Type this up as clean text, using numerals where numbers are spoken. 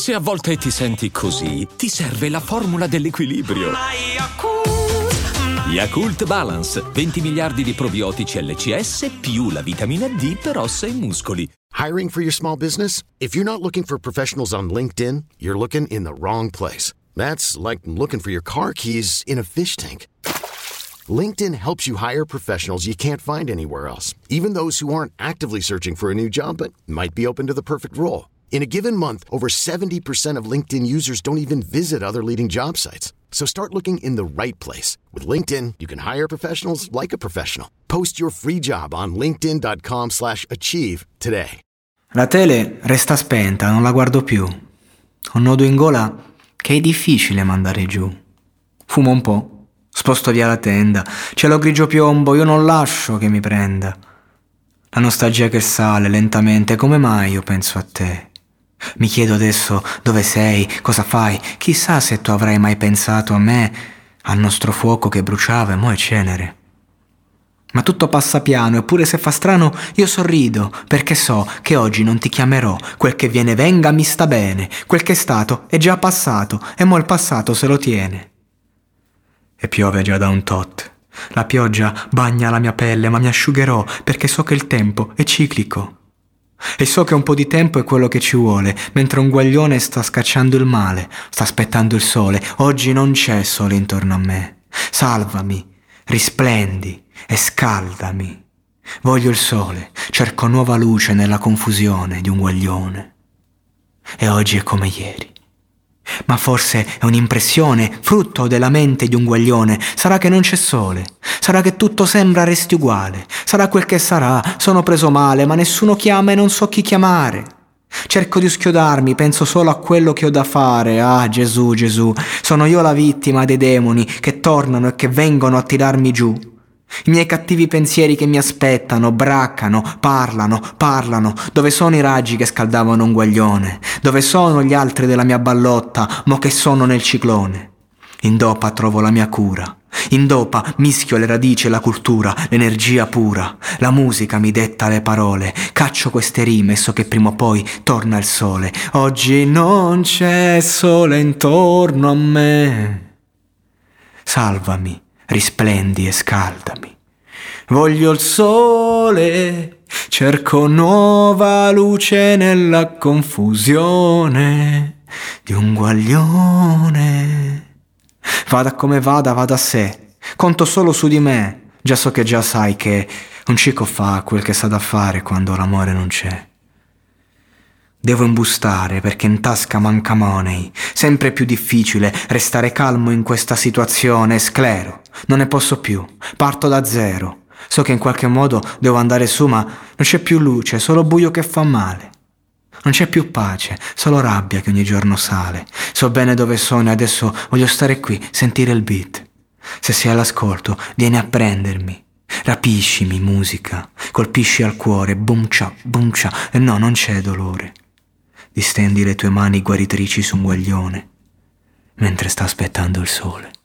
Se a volte ti senti così, ti serve la formula dell'equilibrio. Yakult Balance, 20 miliardi di probiotici LCS più la vitamina D per ossa e muscoli. Hiring for your small business? If you're not looking for professionals on LinkedIn, you're looking in the wrong place. That's like looking for your car keys in a fish tank. LinkedIn helps you hire professionals you can't find anywhere else, even those who aren't actively searching for a new job but might be open to the perfect role. In a given month, over 70% of LinkedIn users don't even visit other leading job sites. So start looking in the right place. With LinkedIn, you can hire professionals like a professional. Post your free job on linkedin.com/achieve today. La tele resta spenta, non la guardo più. Ho un nodo in gola che è difficile mandare giù. Fumo un po', sposto via la tenda, cielo grigio piombo, io non lascio che mi prenda. La nostalgia che sale lentamente, come mai io penso a te? Mi chiedo adesso dove sei, cosa fai, chissà se tu avrai mai pensato a me, al nostro fuoco che bruciava e mo' è cenere. Ma tutto passa piano, eppure se fa strano io sorrido, perché so che oggi non ti chiamerò, quel che viene venga mi sta bene, quel che è stato è già passato e mo' il passato se lo tiene. E piove già da un tot, la pioggia bagna la mia pelle ma mi asciugherò perché so che il tempo è ciclico. E so che un po' di tempo è quello che ci vuole, mentre un guaglione sta scacciando il male, sta aspettando il sole. Oggi non c'è sole intorno a me. Salvami, risplendi e scaldami. Voglio il sole, cerco nuova luce nella confusione di un guaglione. E oggi è come ieri. Ma forse è un'impressione, frutto della mente di un guaglione. Sarà che non c'è sole, sarà che tutto sembra resti uguale, sarà quel che sarà, sono preso male, ma nessuno chiama e non so chi chiamare. Cerco di schiodarmi, penso solo a quello che ho da fare. Ah, Gesù, Gesù, sono io la vittima dei demoni che tornano e che vengono a tirarmi giù. I miei cattivi pensieri che mi aspettano, braccano, parlano. Dove sono i raggi che scaldavano un guaglione? Dove sono gli altri della mia ballotta, mo che sono nel ciclone? In dopa trovo la mia cura. In dopa mischio le radici e la cultura, l'energia pura. La musica mi detta le parole. Caccio queste rime e so che prima o poi torna il sole. Oggi non c'è sole intorno a me. Salvami, risplendi e scaldami. Voglio il sole, cerco nuova luce nella confusione di un guaglione. Vada come vada, vada a sé, conto solo su di me. Già so che già sai che un cico fa quel che sa da fare quando l'amore non c'è. Devo imbustare perché in tasca manca money. Sempre più difficile restare calmo in questa situazione. Sclero, non ne posso più, parto da zero. So che in qualche modo devo andare su, ma non c'è più luce, solo buio che fa male. Non c'è più pace, solo rabbia che ogni giorno sale. So bene dove sono e adesso voglio stare qui, sentire il beat. Se sei all'ascolto, vieni a prendermi. Rapiscimi, musica, colpisci al cuore, boom cia, e no, non c'è dolore. Distendi le tue mani guaritrici su un guaglione, mentre sta aspettando il sole.